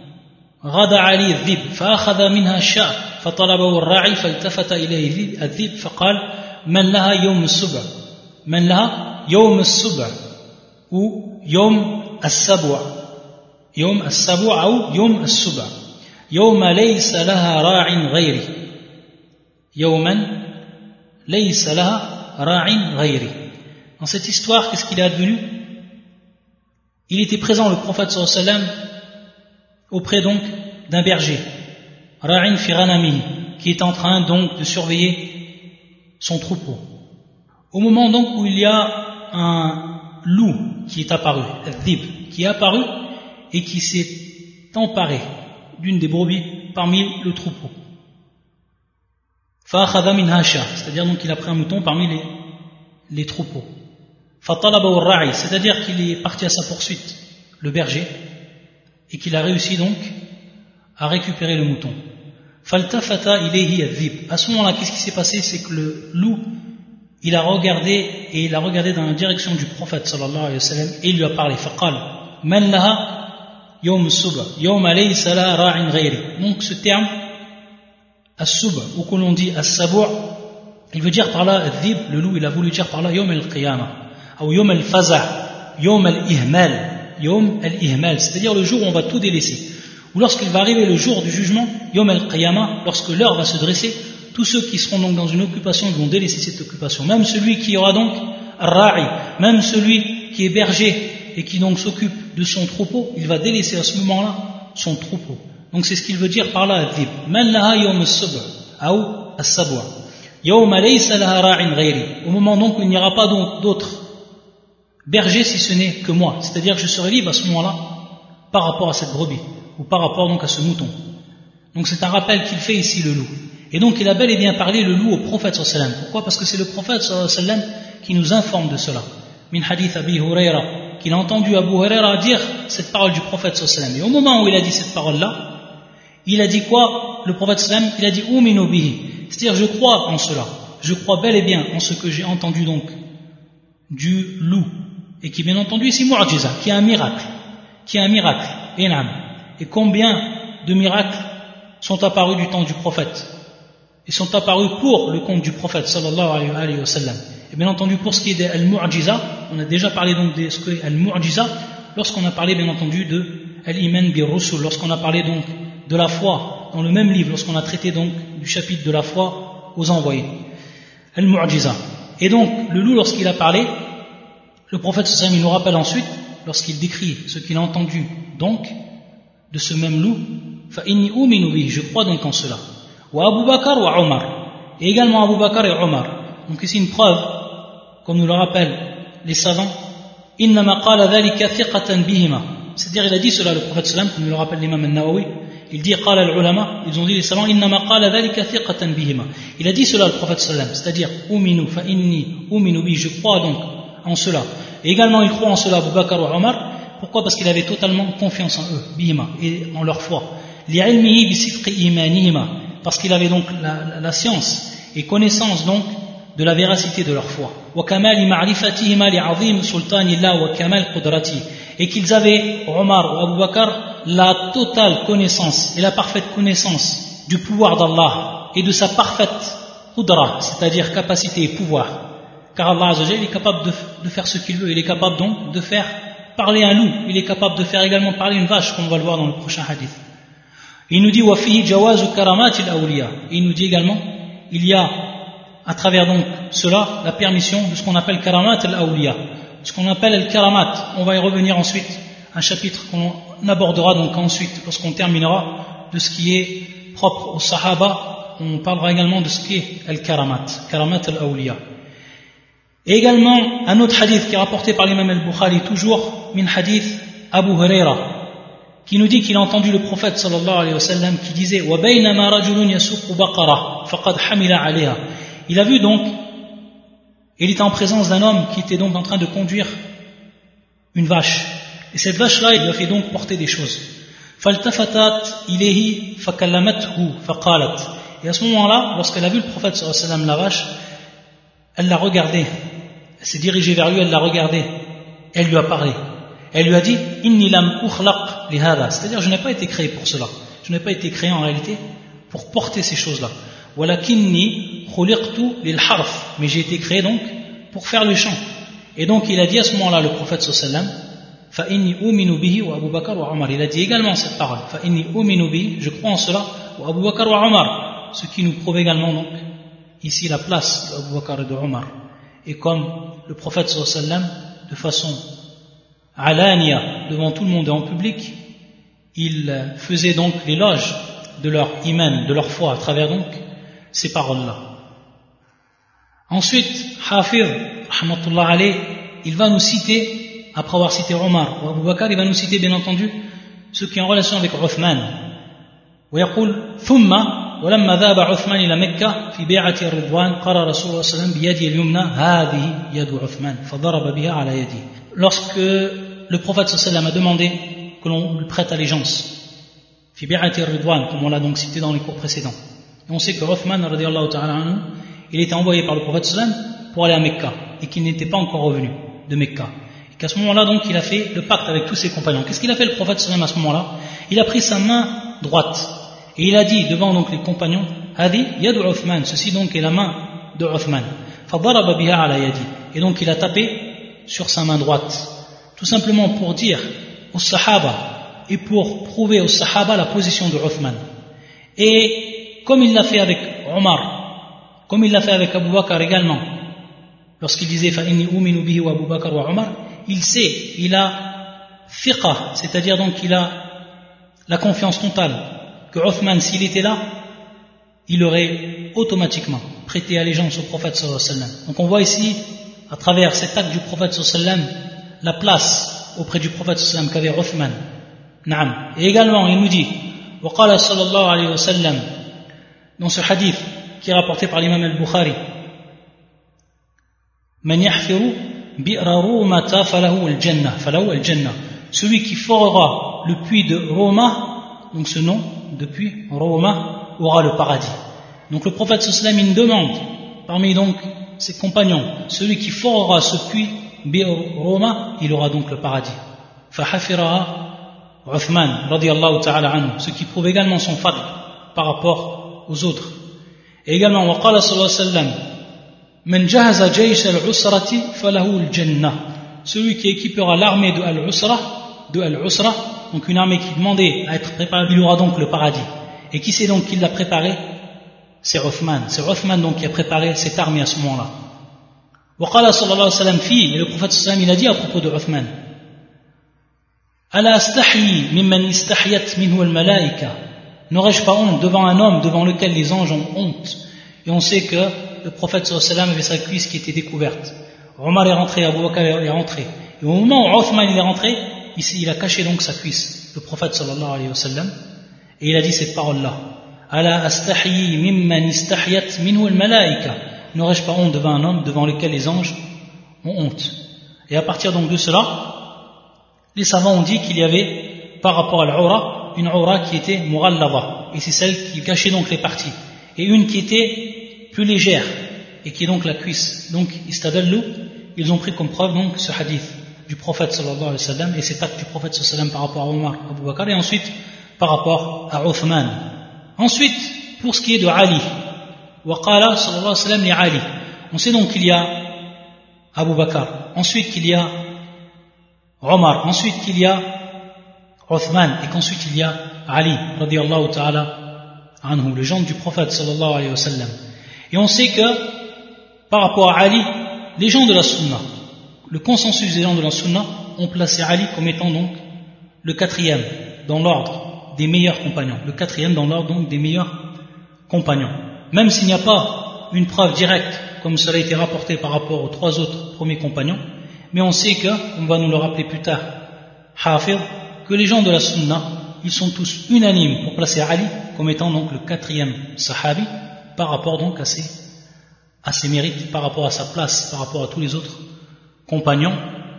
غدا عليه الذئب فأخذ منها الشاة فطلبه الراعي فالتفت إليه الذئب فقال من لها يوم السبع من لها يوم السبع أو يوم السبع يوم السبع أو يوم السبع يوم ليس لها راع غيري يوما ليس لها راع غيري. Dans cette histoire, qu'est-ce qu'il est advenu? Il était présent, le prophète sallallahu alayhi wa sallam, auprès donc d'un berger, Ra'in fi ghanamihi, qui est en train donc de surveiller son troupeau. Au moment donc où il y a un loup qui est apparu, al-dhib, qui est apparu et qui s'est emparé d'une des brebis parmi le troupeau. Fa'akhadha minha sha, c'est-à-dire donc qu'il a pris un mouton parmi les, les troupeaux. Fatalabahu ar-ra'i, c'est-à-dire qu'il est parti à sa poursuite, le berger, et qu'il a réussi donc à récupérer le mouton. Faltafata ilayhi adh-dhib. À ce moment-là, qu'est-ce qui s'est passé? C'est que le loup, il a regardé et il a regardé dans la direction du prophète sallallahu alayhi wa sallam et il lui a parlé. Faqal man laha yawm as-sub'a yawma laysa laha ra'in ghayri. Donc ce terme as-sub'a ou que l'on dit as-sab'a, il veut dire par là adh-dhib, le loup, il a voulu dire par là yawm al-qiyamah ou yawm al-faza', yawm al-ihmal. Yom al-ihmal, c'est-à-dire le jour où on va tout délaisser. Ou lorsqu'il va arriver le jour du jugement, Yom al-qiyamah, lorsque l'heure va se dresser, tous ceux qui seront donc dans une occupation, ils vont délaisser cette occupation. Même celui qui aura donc ar-ra'i, même celui qui est berger et qui donc s'occupe de son troupeau, il va délaisser à ce moment-là son troupeau. Donc c'est ce qu'il veut dire par là, adh-dhib. Man laha yawm as-sub'a ou as-sab'a. Yawma laysa laha ra'in ghayri. Au moment donc où il n'y aura pas d'autres berger si ce n'est que moi, c'est-à-dire que je serai libre à ce moment-là par rapport à cette brebis ou par rapport donc à ce mouton. Donc c'est un rappel qu'il fait ici le loup. Et donc il a bel et bien parlé le loup au prophète sallallahu alayhi wa sallam. Pourquoi? Parce que c'est le prophète sallallahu alayhi wa sallam qui nous informe de cela. Min hadith Abi Huraira, qu'il a entendu Abu Huraira dire cette parole du prophète sallallahu alayhi wa sallam. Et au moment où il a dit cette parole-là, il a dit quoi? Le prophète sallallahu alayhi wa sallam, il a dit Uminu bihi, c'est-à-dire je crois en cela. Je crois bel et bien en ce que j'ai entendu donc du loup. Et qui bien entendu ici mu'jiza, qui est un miracle, qui est un miracle, énorme. Et combien de miracles sont apparus du temps du prophète? Ils sont apparus pour le compte du prophète sallallahu alayhi wa sallam. Et bien entendu pour ce qui est de al-mu'jiza, on a déjà parlé donc de ce qu'est al-mu'jiza lorsqu'on a parlé bien entendu de al-iman bi rusul, lorsqu'on a parlé donc de la foi dans le même livre, lorsqu'on a traité donc du chapitre de la foi aux envoyés. Al-mu'jiza. Et donc le loup lorsqu'il a parlé, le prophète sallallahu alayhi wa sallam, il nous rappelle ensuite, lorsqu'il décrit ce qu'il a entendu donc de ce même loup, fa inni uminu bihi, je crois donc en cela. Wa Abu Bakr wa Omar, et également Abu Bakr et Omar. Donc ici une preuve comme nous le rappellent les savants, innama qala dhalika thiqatan bihima. C'est-à-dire, il a dit cela, le prophète sallam, comme nous le rappelle l'imam al-Nawawi, il dit qala al-ulama, ils ont dit les savants, innama qala dhalika thiqatan bihima. Il a dit cela, le prophète sallam, c'est-à-dire, uminu fa inni uminu bi, je crois donc en cela. Et également, il croit en cela Abu Bakr ou Omar. Pourquoi? Parce qu'il avait totalement confiance en eux, bihima, et en leur foi. Li'ilmihi bi sidqi imanihima, parce qu'il avait donc la, la, la science et connaissance donc de la véracité de leur foi. Et qu'ils avaient, Omar ou Abu Bakr, la totale connaissance et la parfaite connaissance du pouvoir d'Allah et de sa parfaite qudra, c'est-à-dire capacité et pouvoir. Car Allah Azza wa Jalla est capable de, de faire ce qu'il veut, il est capable donc de faire parler un loup, il est capable de faire également parler une vache, comme on va le voir dans le prochain hadith. Il nous dit وَفِيهِ جَوَازُ كَرَامَاتِ الْأَوْلِيَا. Et il nous dit également, il y a à travers donc cela la permission de ce qu'on appelle karamat al-awliya, ce qu'on appelle al-karamat. On va y revenir ensuite, un chapitre qu'on abordera donc ensuite lorsqu'on terminera de ce qui est propre aux sahaba. On parlera également de ce qui est al-karamat, karamat al-awliya. Et également un autre hadith qui est rapporté par l'imam al-Bukhari, toujours min hadith Abu Huraira, qui nous dit qu'il a entendu le prophète sallallahu alayhi wa sallam qui disait wa baynama rajulun yasuqu baqara faqad hamila alayha. Il a vu donc, il était en présence d'un homme qui était donc en train de conduire une vache. Et cette vache-là, il lui a fait donc porter des choses. فَالْتَفَتَتْ إِلَيْهِ فَكَلَّمَتْهُ فَقَالَتْ. Et à ce moment-là, lorsqu'elle a vu le prophète sallallahu alayhi wa sallam, la vache, elle l'a regardé. Elle s'est dirigée vers lui, elle l'a regardé. Elle lui a parlé. Elle lui a dit Inni lam ukhlaq li hada. C'est-à-dire, je n'ai pas été créé pour cela. Je n'ai pas été créé en réalité pour porter ces choses-là. Walakinni khuliqtu lil harf. Mais j'ai été créé donc pour faire le chant. Et donc, il a dit à ce moment-là, le prophète sallallahu alayhi wa sallam, fa inni uminu bihi wa Abu Bakr wa Omar. Il a dit également cette parole. Fa inni uminu bihi, je crois en cela, wa Abu Bakr wa Omar. Ce qui nous prouve également donc ici la place d'Abu Bakr et de Omar. Et comme le prophète sallallahu alayhi wa sallam, de façon alania, devant tout le monde et en public, il faisait donc l'éloge de leur iman, de leur foi, à travers donc ces paroles-là. Ensuite, Hafir, rahmatullah alayh, il va nous citer, après avoir cité Omar ou Abu Bakr, il va nous citer bien entendu ce qui est en relation avec Uthman. ويقول ثم ولما ذهب عثمان إلى مكة في بيعة الرضوان قال رسول الله صلى الله عليه وسلم بيده اليمنى هذه يد عثمان فضرب بها على يده. Lorsque le prophète sallallahu alayhi wa sallam a demandé que l'on lui prête allégeance, fi bi'ati ar-ridwan, comme on l'a donc cité dans les cours précédents. Et on sait que Uthman radiyallahu ta'ala anhu, il était envoyé par le prophète sallallahu alayhi wa sallam pour aller à Mecca et qu'il n'était pas encore revenu de Mecca. Et qu'à ce moment-là donc il a fait le pacte avec tous ses compagnons. Qu'est-ce qu'il a fait le prophète sallallahu alayhi wa sallam à ce moment-là? Il a pris sa main droite et il a dit devant donc les compagnons hadi yadu Uthman, ceci donc est la main de Uthman. Fadaraba biha ala yadi, et donc il a tapé sur sa main droite, tout simplement pour dire aux sahaba et pour prouver aux sahaba la position de Uthman. Et comme il l'a fait avec Omar, comme il l'a fait avec Abu Bakr également, lorsqu'il disait fa inni uminu bihi wa Abu Bakr wa Omar, il sait, il a fiqa, c'est-à-dire donc il a la confiance totale que Uthman, s'il était là, il aurait automatiquement prêté allégeance au prophète sallallahu alayhi wa sallam. Donc on voit ici, à travers cet acte du prophète sallallahu alayhi wa sallam, la place auprès du prophète sallallahu alayhi wa sallam qu'avait Uthman. Naam. Et également, il nous dit, وقال صلى الله عليه وسلم, dans ce hadith qui est rapporté par l'imam al-Bukhari, من يحفر بئر رومة فله الجنة فله الجنة. Celui qui forera le puits de Roma, donc ce nom de puits, Roma, aura le paradis. Donc le prophète sallallahu alayhi wa sallam, il demande parmi donc ses compagnons, celui qui forera ce puits bi'r Roma, il aura donc le paradis. فحفرها Uthman radiyallahu ta'ala anhu, ce qui prouve également son fadl par rapport aux autres. Et également وقال صلى الله عليه وسلم من جهز جيش العسرة فله الجنة. Celui qui équipera l'armée de Al-Usra, de Al-Usra, donc une armée qui demandait à être préparée, il aura donc le paradis. Et qui c'est donc qui l'a préparé? C'est Uthman. C'est Uthman donc qui a préparé cette armée à ce moment-là. وقال صلى الله عليه وسلم فيه, et le prophète sallallahu alayhi wa sallam, il a dit à propos de Uthman, ألا أستحيي ممن استحيت منه الملائكة. N'aurais-je pas honte devant un homme devant lequel les anges ont honte? Et on sait que le prophète sallallahu alayhi wa sallam avait sa cuisse qui était découverte. Omar est rentré, Abu Bakr est rentré. Et au moment où Othman il est rentré, ici, il a caché donc sa cuisse, le prophète sallallahu alayhi wa sallam, et il a dit cette parole-là. Ala astahyi mimman istahyat minhu al-malaika. N'aurais-je pas honte devant un homme devant lequel les anges ont honte? Et à partir donc de cela, les savants ont dit qu'il y avait, par rapport à l'aura, une aura qui était murallava, et c'est celle qui cachait donc les parties, et une qui était plus légère, et qui est donc la cuisse. Donc, istadallu, ils ont pris comme preuve donc ce hadith du prophète sallallahu alayhi wa sallam, et cet acte du prophète sallallahu alayhi wa sallam par rapport à Omar, Abu Bakr, et ensuite par rapport à Uthman. Ensuite, pour ce qui est de Ali, waqala sallallahu alayhi wa sallam li Ali, on sait donc qu'il y a Abu Bakr, ensuite qu'il y a Omar, ensuite qu'il y a Uthman, et qu'ensuite il y a Ali, radiyallahu ta'ala anhu, le gendre du prophète sallallahu alayhi wa sallam. Et on sait que, par rapport à Ali, les gens de la Sunna, le consensus des gens de la Sunna, ont placé Ali comme étant donc le quatrième dans l'ordre des meilleurs compagnons, le quatrième dans l'ordre donc des meilleurs compagnons. Même s'il n'y a pas une preuve directe, comme cela a été rapporté par rapport aux trois autres premiers compagnons, mais on sait que, on va nous le rappeler plus tard, Hafid, que les gens de la Sunna, ils sont tous unanimes pour placer Ali comme étant donc le quatrième sahabi par rapport donc à ses, à ses mérites, par rapport à sa place, par rapport à tous les autres compagnons.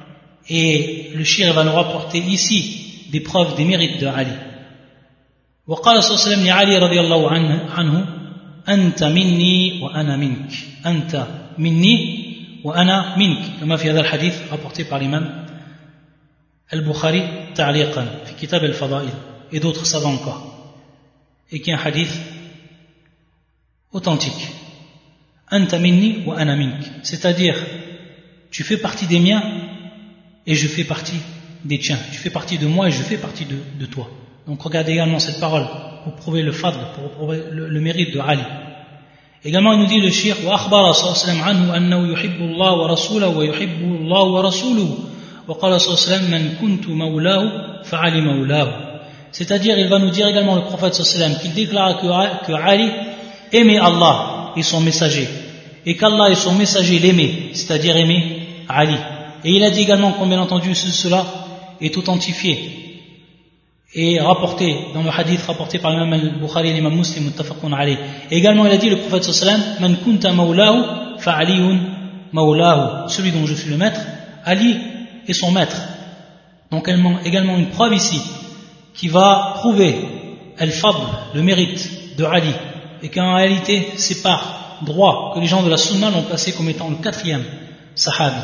Et le shir va nous rapporter ici des preuves des mérites de Ali. وقال صلى الله عليه وسلم لعلي رضي الله عنه, عنه أنت مني وأنا منك أنت مني وأنا منك كما في هذا الحديث rapporté par l'imam Al-Bukhari تعليقا في كتاب الفضائل et d'autres savants encore, et qui est un hadith authentique. Anta minni wa ana mink, c'est-à-dire tu fais partie des miens et je fais partie des tiens, tu fais partie de moi et je fais partie de, de toi. Donc regardez également cette parole pour prouver le fadl, pour prouver le, le mérite de Ali. Également il nous dit le shir wa akhbara sallallahu alayhi wa sallam anhu annahu yuhibbu Allah wa rasulahu wa yuhibbu Allah wa rasuluhu wa qala sallallahu alayhi wa sallam man kuntu mawlahu fa ali mawlahu. C'est-à-dire il va nous dire également le prophète sallallahu alayhi wa sallam qu'il déclare que, que Ali aimait Allah et son messager, et qu'Allah et son messager l'aimaient, c'est-à-dire aimaient Ali. Et il a dit également que bien entendu cela est authentifié et rapporté dans le hadith rapporté par l'imam al-Bukhari et l'imam Muslim muttafaqun alayh. Et également il a dit le prophète sallallahu alayhi wa sallam man kunta mawlahu fa aliyun mawlahu, celui dont je suis le maître, Ali est son maître. Donc également une preuve ici qui va prouver al-fadl, le mérite de Ali, et qu'en réalité c'est par droit que les gens de la Sunna l'ont placé comme étant le quatrième sahabi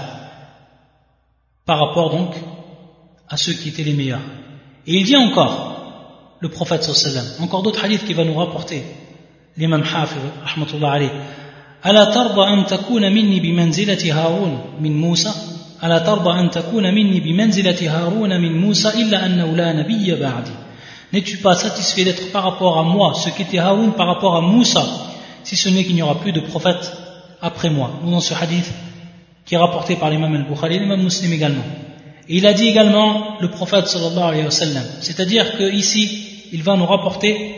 par rapport donc à ceux qui étaient les meilleurs. Et il dit encore, le prophète sallallahu alayhi wa sallam, encore d'autres hadiths qui va nous rapporter l'imam Hafiz rahmatullah alayh, ala tarda an takuna minni bimanzilati Harun min Musa, ala tarda an takuna minni bimanzilati Harun min Musa illa annahu la nabiyya ba'di. N'es-tu pas satisfait d'être par rapport à moi ce qu'était Haroun par rapport à Moussa, si ce n'est qu'il n'y aura plus de prophète après moi? Nous dans ce hadith qui est rapporté par l'imam al-Bukhari et l'imam Muslim également. Et il a dit également le prophète sallallahu alayhi wa sallam, c'est-à-dire que ici il va nous rapporter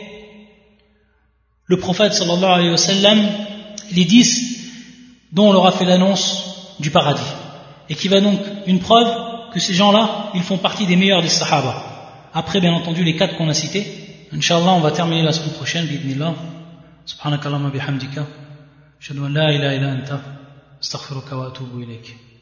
le prophète sallallahu alayhi wa sallam les dix dont on leur a fait l'annonce du paradis, et qui va donc une preuve que ces gens-là ils font partie des meilleurs des sahaba. Après, bien entendu, les quatre qu'on a cités. Inch'Allah, on va terminer la semaine prochaine, bi'idhnillah. Subhanakallahumma bihamdika. Ashhadu an la ilaha illa anta. Astaghfiruka wa atubu ilayk.